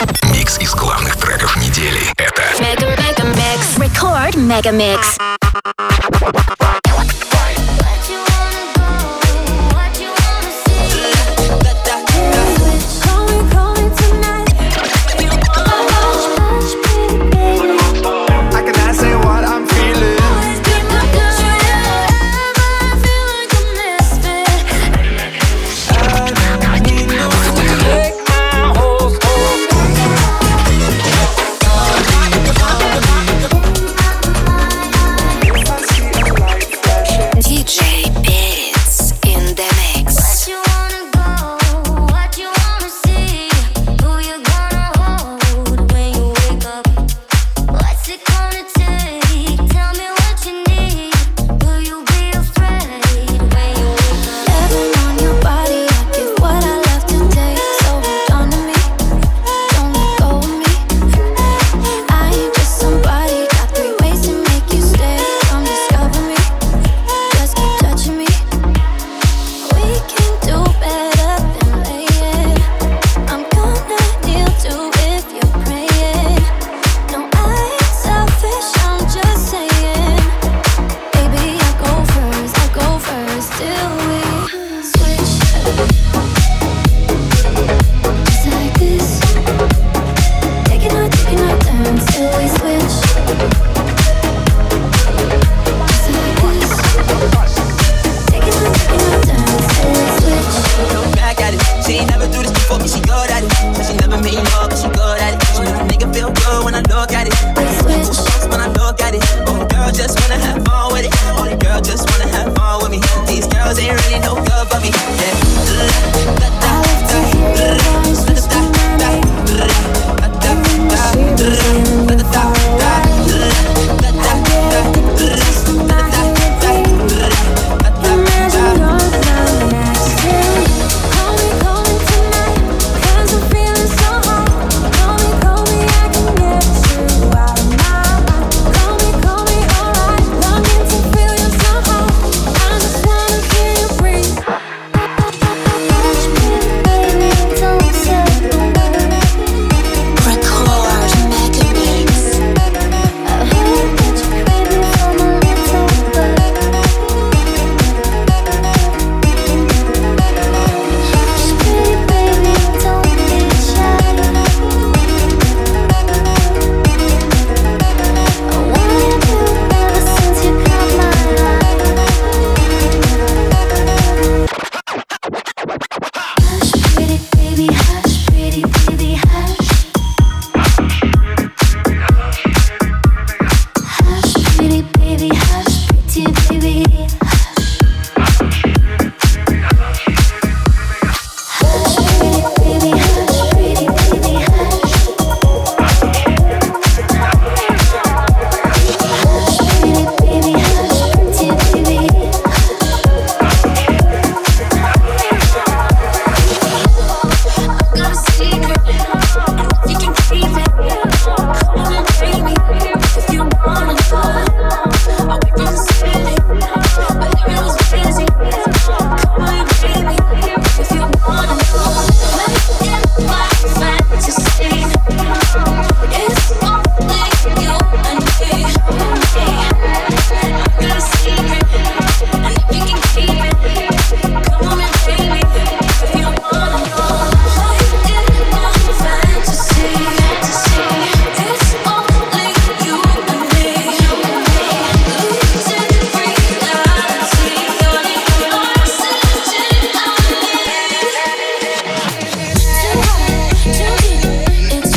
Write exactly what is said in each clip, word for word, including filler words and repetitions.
Микс из главных треков недели. Это Mega Mega Mix. Record Mega Mix. It's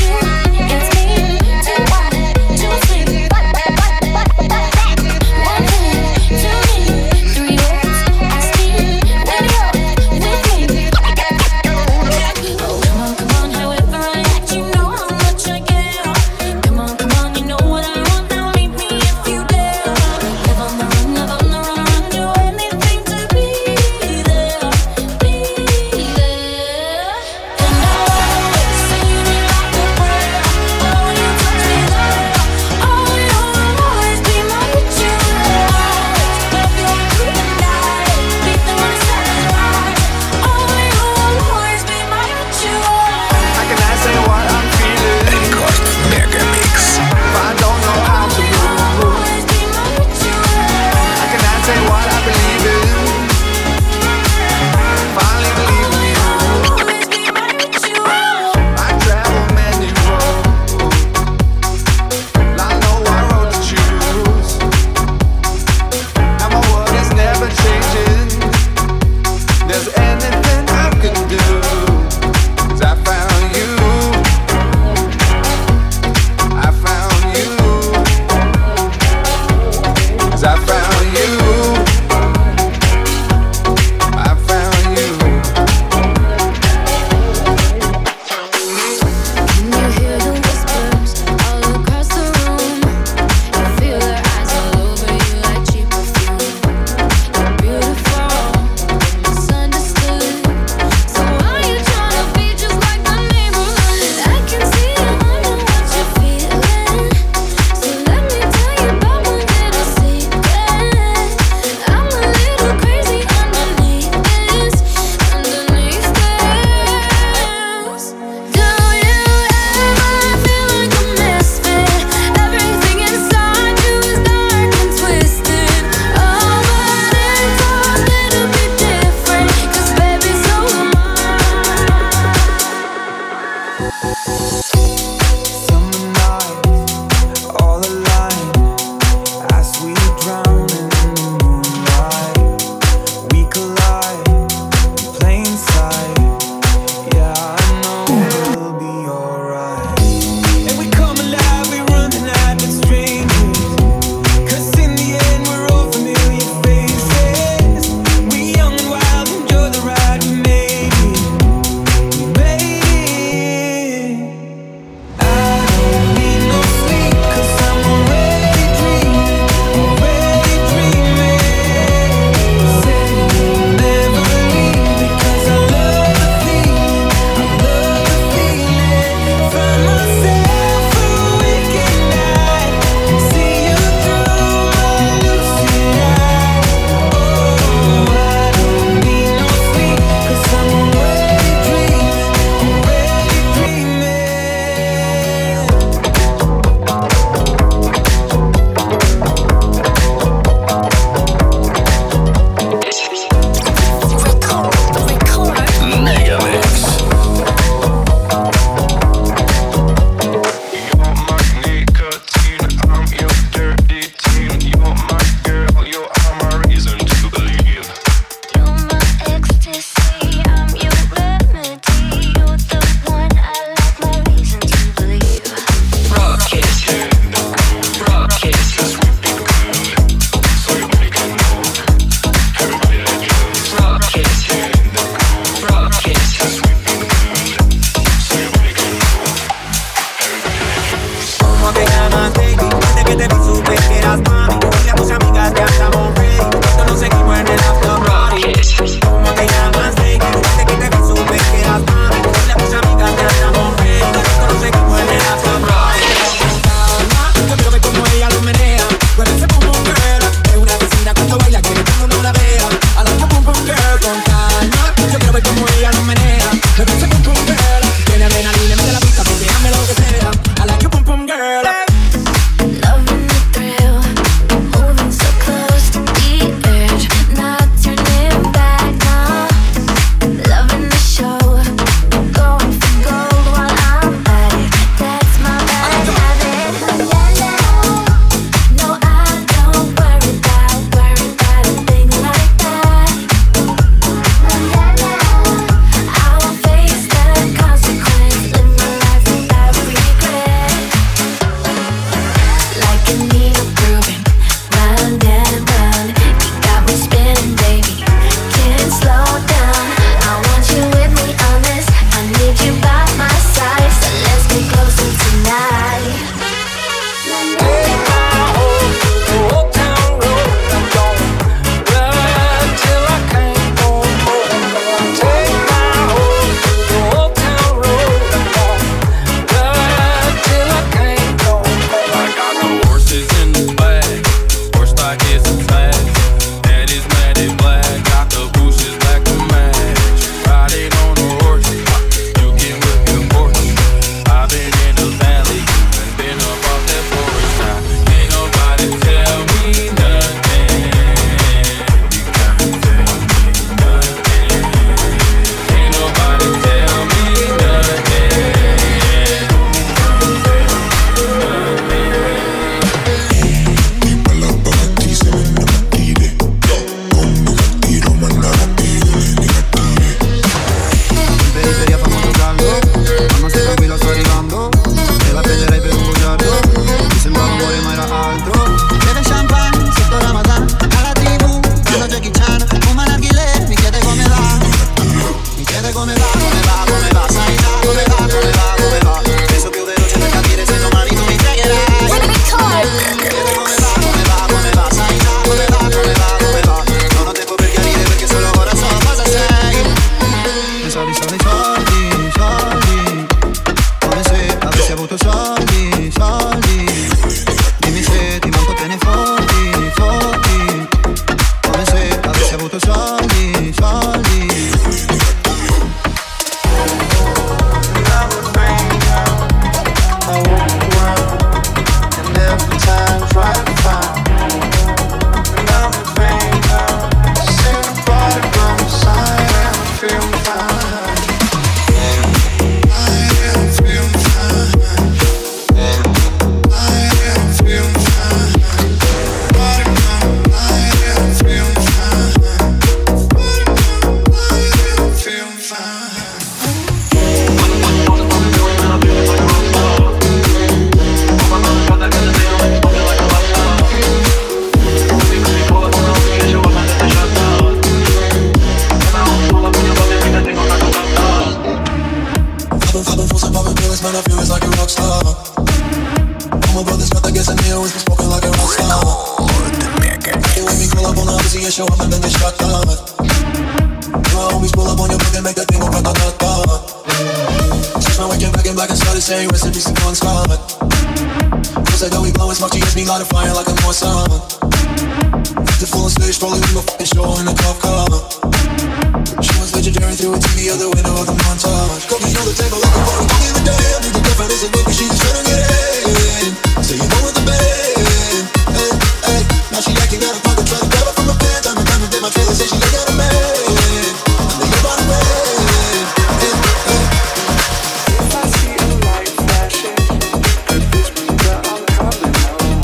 rockstar. All my brothers got the gas and they always been smoking like a rockstar. Hey, when we call up on the Uzi and show up and then they shot down. My homies pull up on your block and make that thing go grata-ta-ta. Since my weekend back in black and started saying recipes to Bon Scott. Cause I know we blowin' smoke, G S me light a fire like a Morsan. The full on stage, probably leave a fucking show in a cop car. She was legendary through a T V other window of the montage. Cookies on the table like a party, don't give a damn. Need the girlfriend is a movie, she just tryna get in. Say you know with the band, hey, hey. Now she acting out of pocket, tryna grab her from a pants. I'm a diamond, did my trailer, say she ain't got a man. And they live on the man, hey, hey. If I see a light flashing, could this mean that I'm coming home?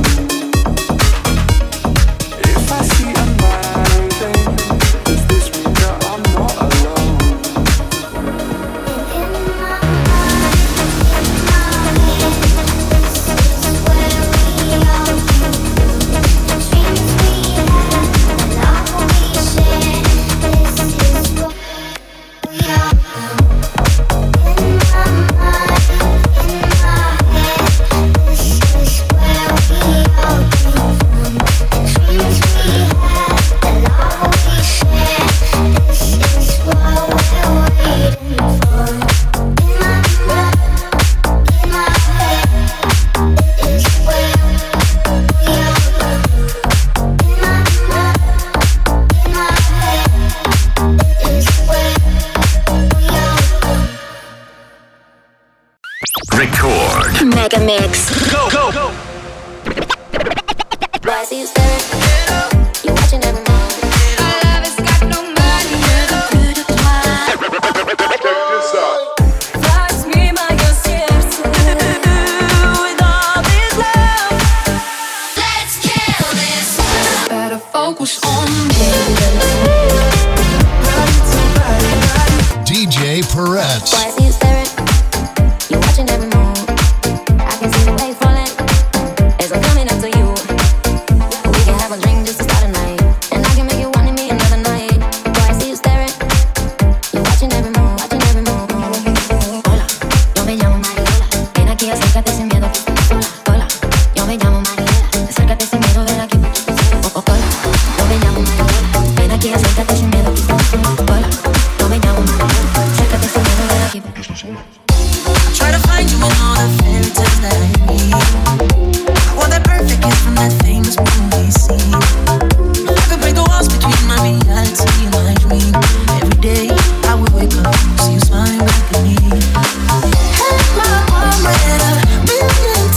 If I see a mind thing, does this mean that I'm not alone? Record. Mega Mix. Go, go, go. Why I see you staring? You watching every move. Our love has got no money. Plus мимо ее сердце. With all this love, let's kill this. Better focus on me. D J Perez. Why I see you staring? You watching every move. I can see the way falling as I'm coming up to you. We can have a drink just to start a night, and I can make you want me another night. Why I see you staring? You watching every move, watching every move. Hola, yo me llamo Mariela. Ven aquí, acércate sin miedo. Hola, yo me llamo Mariela. Acércate sin miedo, ven aquí. Oh, hola, yo me llamo Mariela. Ven aquí, acércate sin miedo. Hola, yo me llamo Mariela. Acércate sin miedo, ven aquí. Try to find you in all the fairy tales that I read. I want that perfect gift from that famous movie scene. I could break the walls between my reality and my dream. Every day I would wake up, see you smiling back at me. Had my arm right a million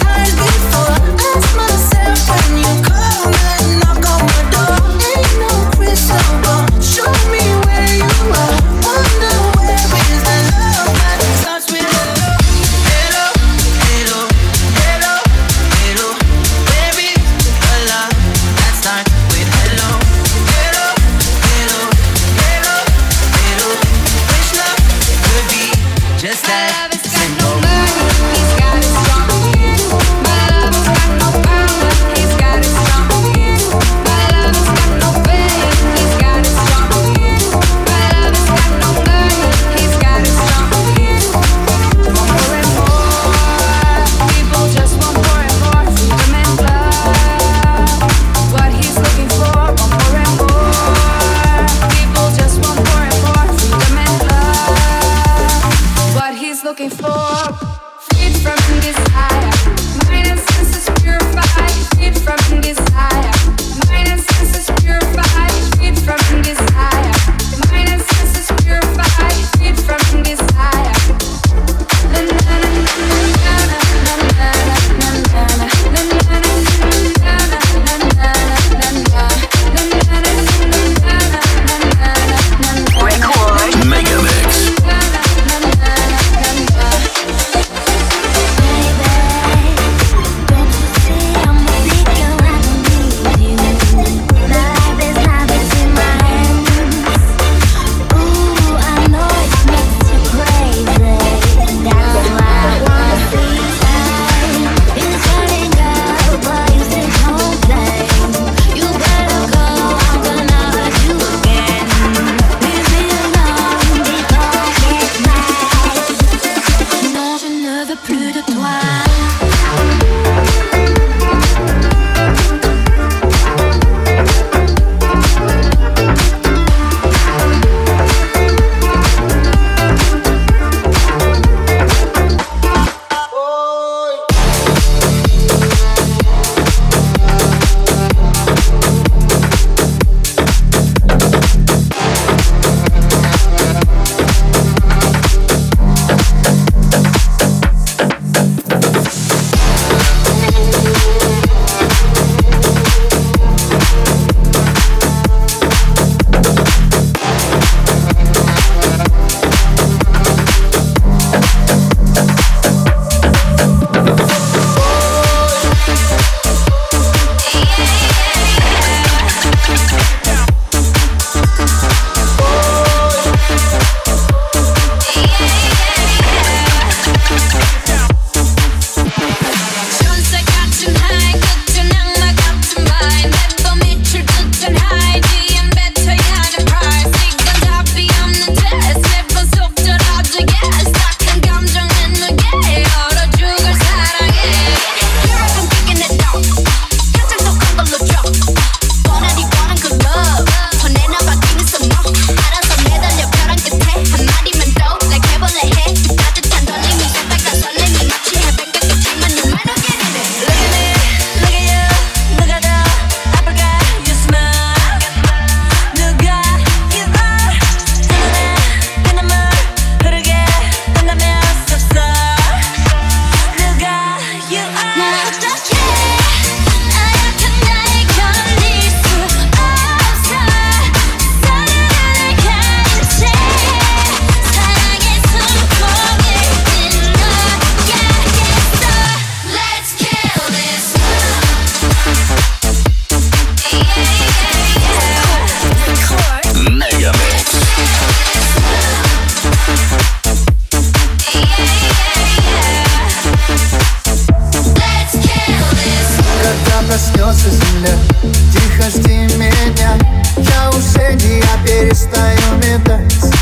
проснется земля. Тихо жди меня, я уже не я перестаю метать.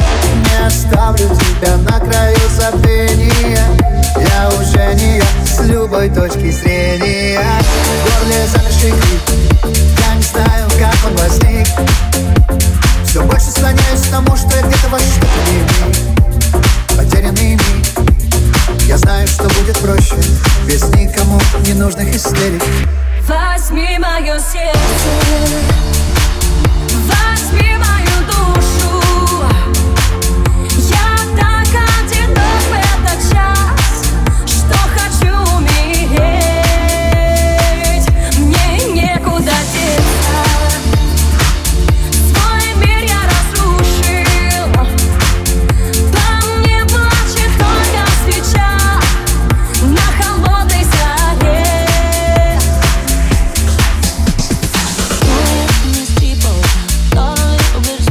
Не оставлю тебя на краю забвения. Я уже не я с любой точки зрения. В горле замерший крик, я не знаю, как он возник. Все больше склоняюсь к тому, что я где-то во что-то не миг. Потерянный миг. Я знаю, что будет проще без никому не нужных истерик. Возьми мое сердце, возьми мою душу. Я так одинок в этот час, что хочу умереть. Мне некуда деться. Свой мир я разрушил. По мне плачет только свеча на холодной заре. These people, thought a little bit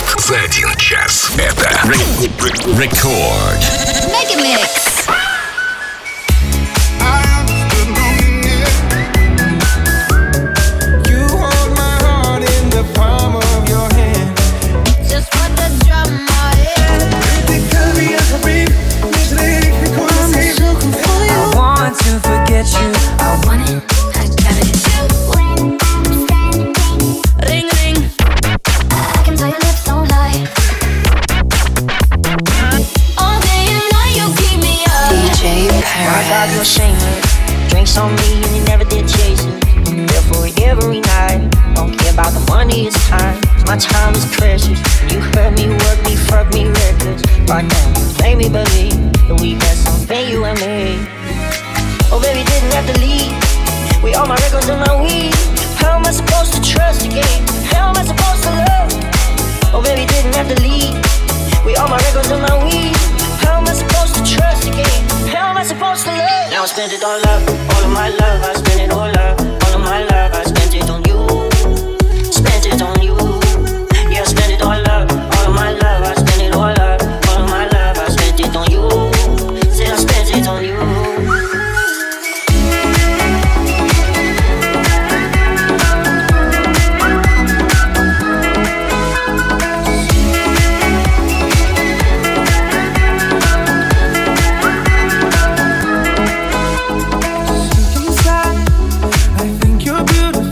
рекорд за один час. Это Рекорд Мегамикс. To forget you, I want it, I got it. Ring ring, I can tell your lips don't lie. all day and night you keep me up. D J My God, you're Paris. shameless. Drinks on me and you never did chase it. There for it every night. Don't care about the money, it's time. My time is precious. You hurt me, work me, fuck me reckless. Right now, make me believe that we got something you and me. Oh baby, didn't have to leave. We all my records and my weed. How am I supposed to trust again? How am I supposed to love? Oh baby, didn't have to leave. We all my records and my weed. How am I supposed to trust again? How am I supposed to love? Now I spent it all up, all of my love. I spent it all up, all of my love. I spent it on you, spent it on you. Yeah, I spent it all up, all of my love. I spent it all up, all of my love. I spent it on you. Said I spent it on you. I think you're beautiful.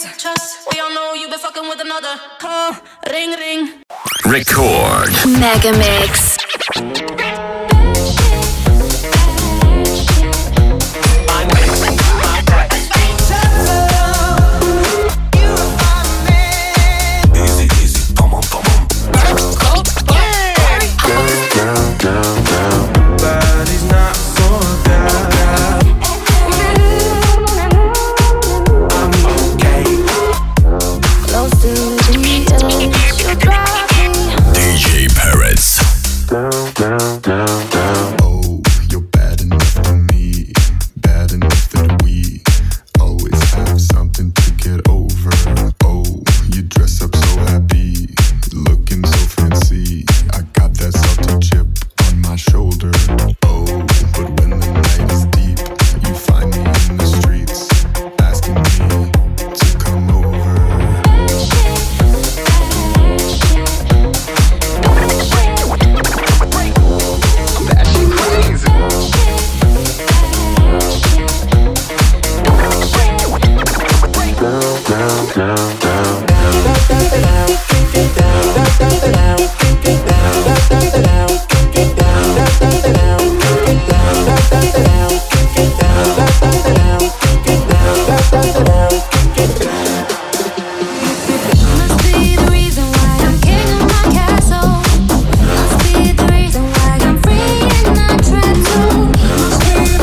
trust, trust. We all know you've been fucking with another. Huh, ring, ring. Record. Mega Mix.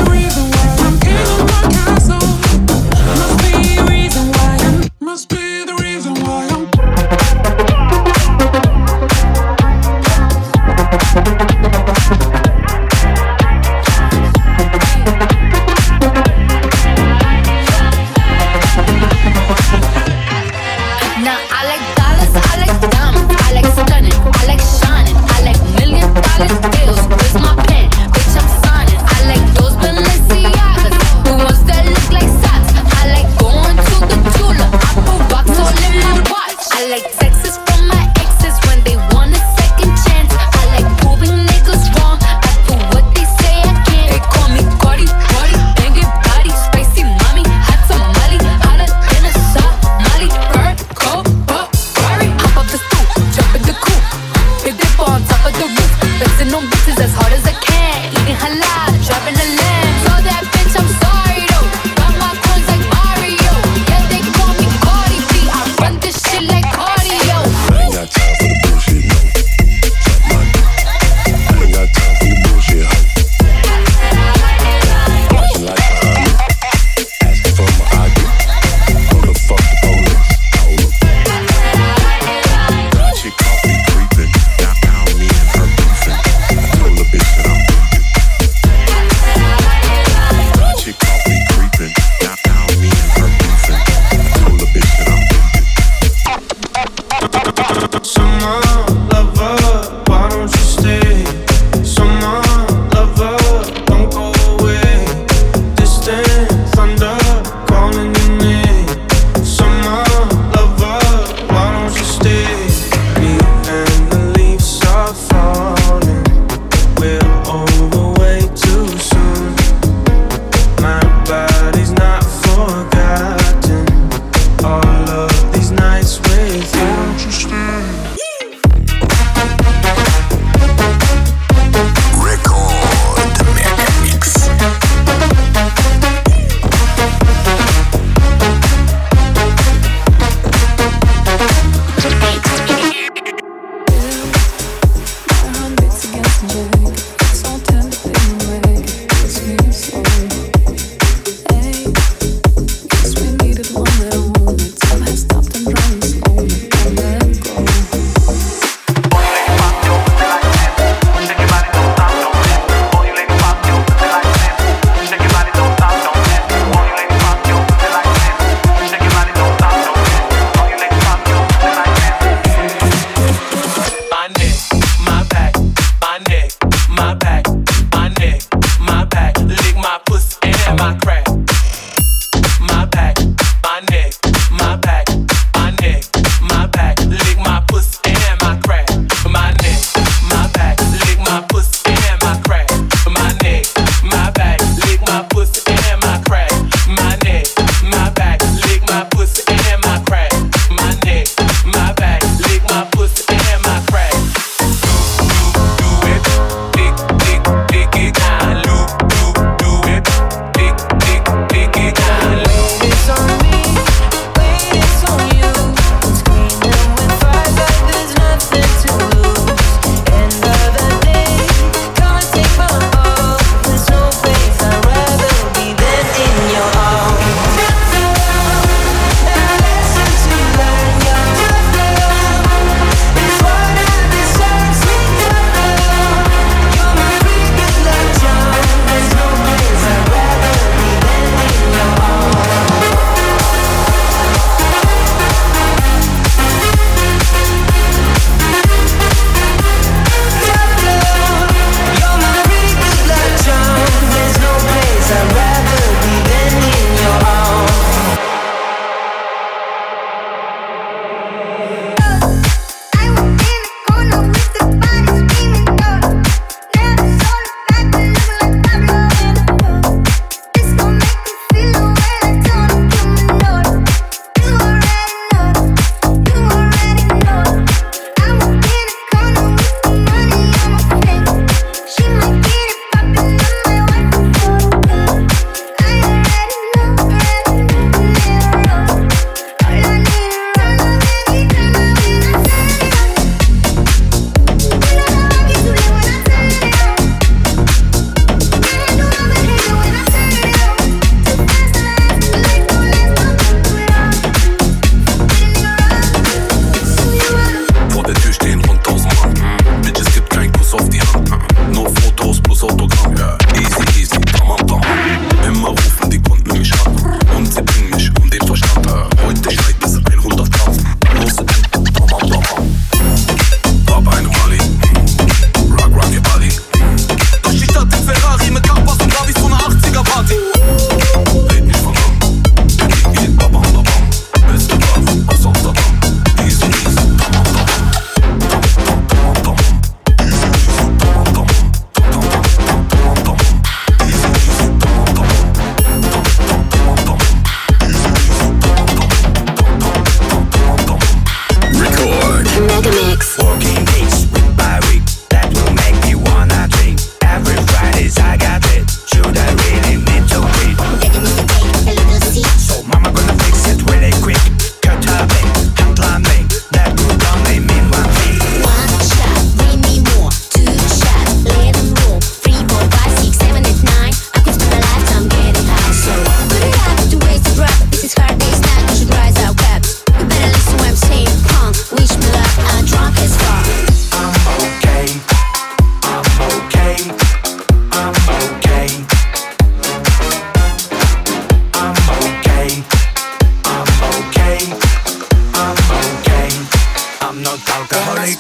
Must be the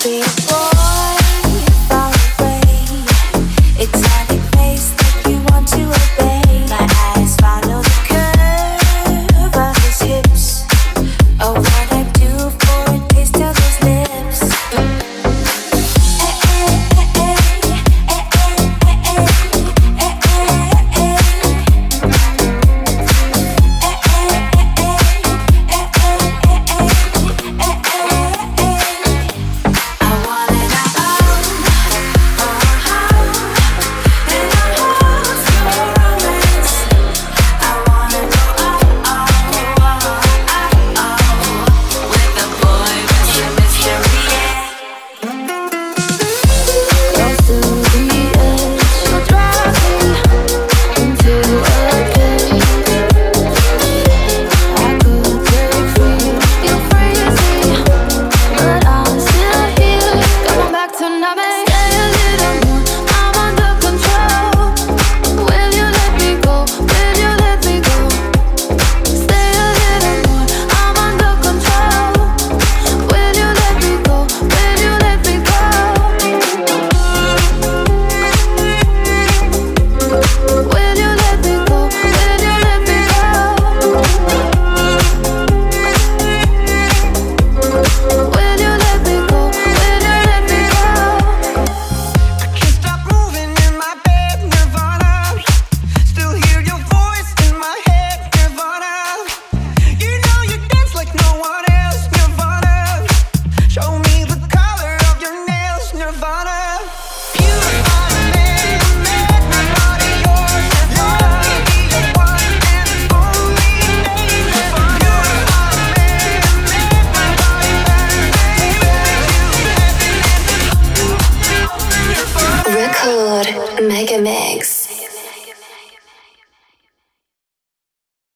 Mega Mix.